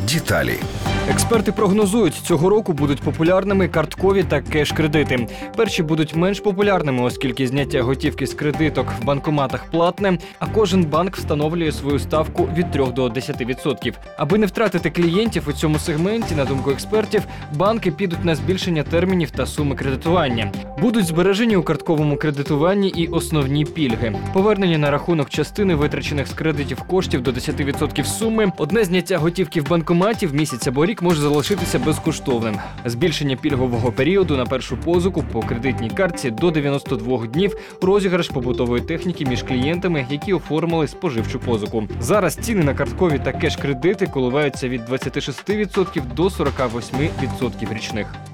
Деталі. Експерти прогнозують, цього року будуть популярними карткові та кеш-кредити. Перші будуть менш популярними, оскільки зняття готівки з кредиток в банкоматах платне, а кожен банк встановлює свою ставку від 3 до 10%. Аби не втратити клієнтів у цьому сегменті, на думку експертів, банки підуть на збільшення термінів та суми кредитування. Будуть збережені у картковому кредитуванні і основні пільги. Повернення на рахунок частини витрачених з кредитів коштів до 10% суми, одне зняття готівки в банкоматі в місяць або рік може залишитися безкоштовним. Збільшення пільгового періоду на першу позику по кредитній картці до 92 днів, розіграш побутової техніки між клієнтами, які оформили споживчу позику. Зараз ціни на карткові та кеш-кредити коливаються від 26% до 48% річних.